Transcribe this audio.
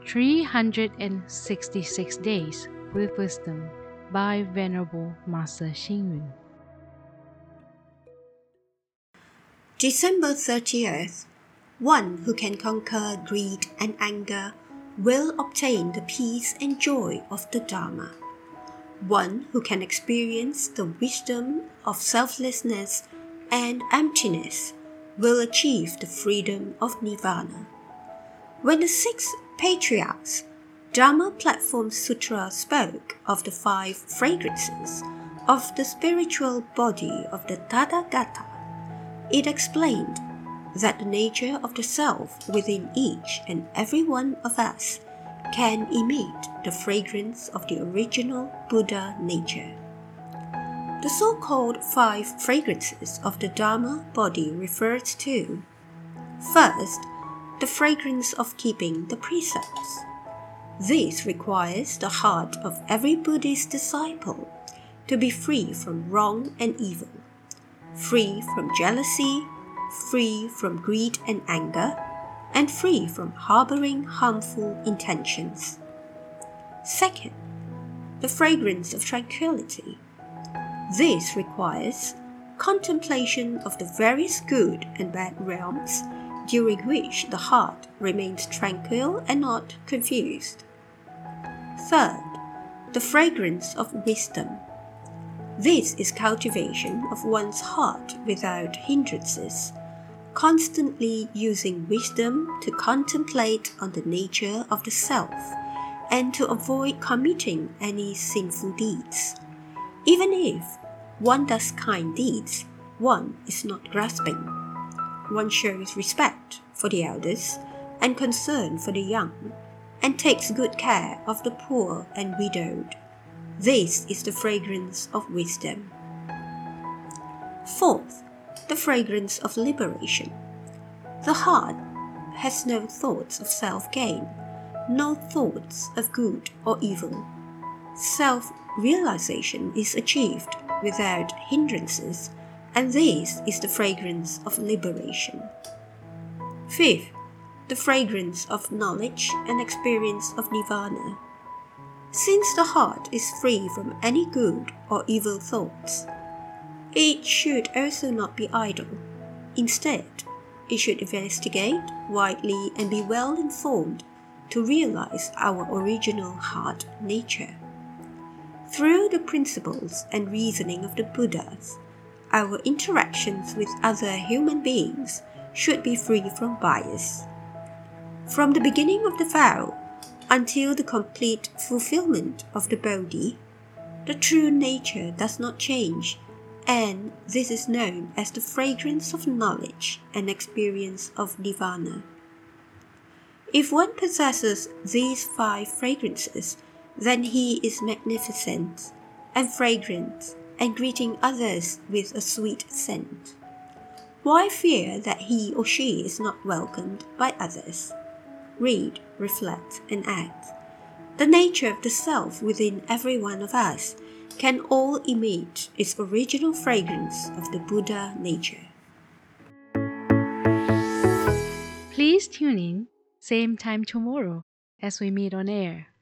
366 Days with Wisdom by Venerable Master Xing Yun. December 30th. One who can conquer greed and anger will obtain the peace and joy of the Dharma. One who can experience the wisdom of selflessness and emptiness will achieve the freedom of Nirvana. When the 6 patriarchs Dharma Platform Sutra spoke of the 5 fragrances of the spiritual body of the Tathagata, it explained that the nature of the self within each and every one of us can emit the fragrance of the original Buddha nature. The so-called 5 fragrances of the Dharma body refers to: first, the fragrance of keeping the precepts. This requires the heart of every Buddhist disciple to be free from wrong and evil, free from jealousy, free from greed and anger, and free from harboring harmful intentions. Second, the fragrance of tranquility. This requires contemplation of the various good and bad realms, during which the heart remains tranquil and not confused. Third, the fragrance of wisdom. This is cultivation of one's heart without hindrances, constantly using wisdom to contemplate on the nature of the self and to avoid committing any sinful deeds. Even if one does kind deeds, one is not grasping. One shows respect for the elders and concern for the young, and takes good care of the poor and widowed. This is the fragrance of wisdom. Fourth, the fragrance of liberation. The heart has no thoughts of self-gain, no thoughts of good or evil. Self-realization is achieved without hindrances, and this is the fragrance of liberation. Fifth, the fragrance of knowledge and experience of Nirvana. Since the heart is free from any good or evil thoughts, it should also not be idle. Instead, it should investigate widely and be well informed to realize our original heart nature. Through the principles and reasoning of the Buddhas, our interactions with other human beings should be free from bias. From the beginning of the vow until the complete fulfillment of the Bodhi, the true nature does not change, and this is known as the fragrance of knowledge and experience of Nirvana. If one possesses these 5 fragrances, then he is magnificent and fragrant and greeting others with a sweet scent. Why fear that he or she is not welcomed by others? Read, reflect, and act. The nature of the self within every one of us can all emit its original fragrance of the Buddha nature. Please tune in, same time tomorrow as we meet on air.